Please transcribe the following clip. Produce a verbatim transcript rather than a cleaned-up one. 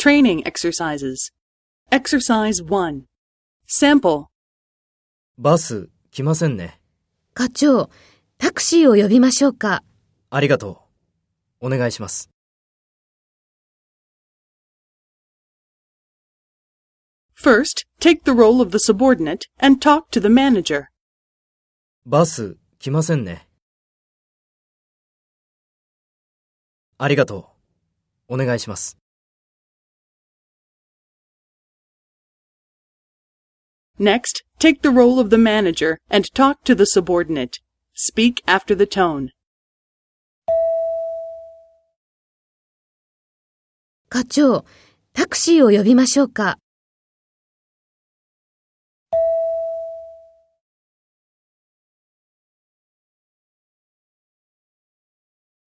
Training exercises. Exercise one. Sample. バス来ませんね。 課長、タクシーを呼びましょうか。 ありがとう。お願いします。 First, take the role of the subordinate and talk to the manager. バス来ませんね。ありがとう。お願いします。 Next, take the role of the manager and talk to the subordinate. Speak after the tone. 課長、タクシーを呼びましょうか。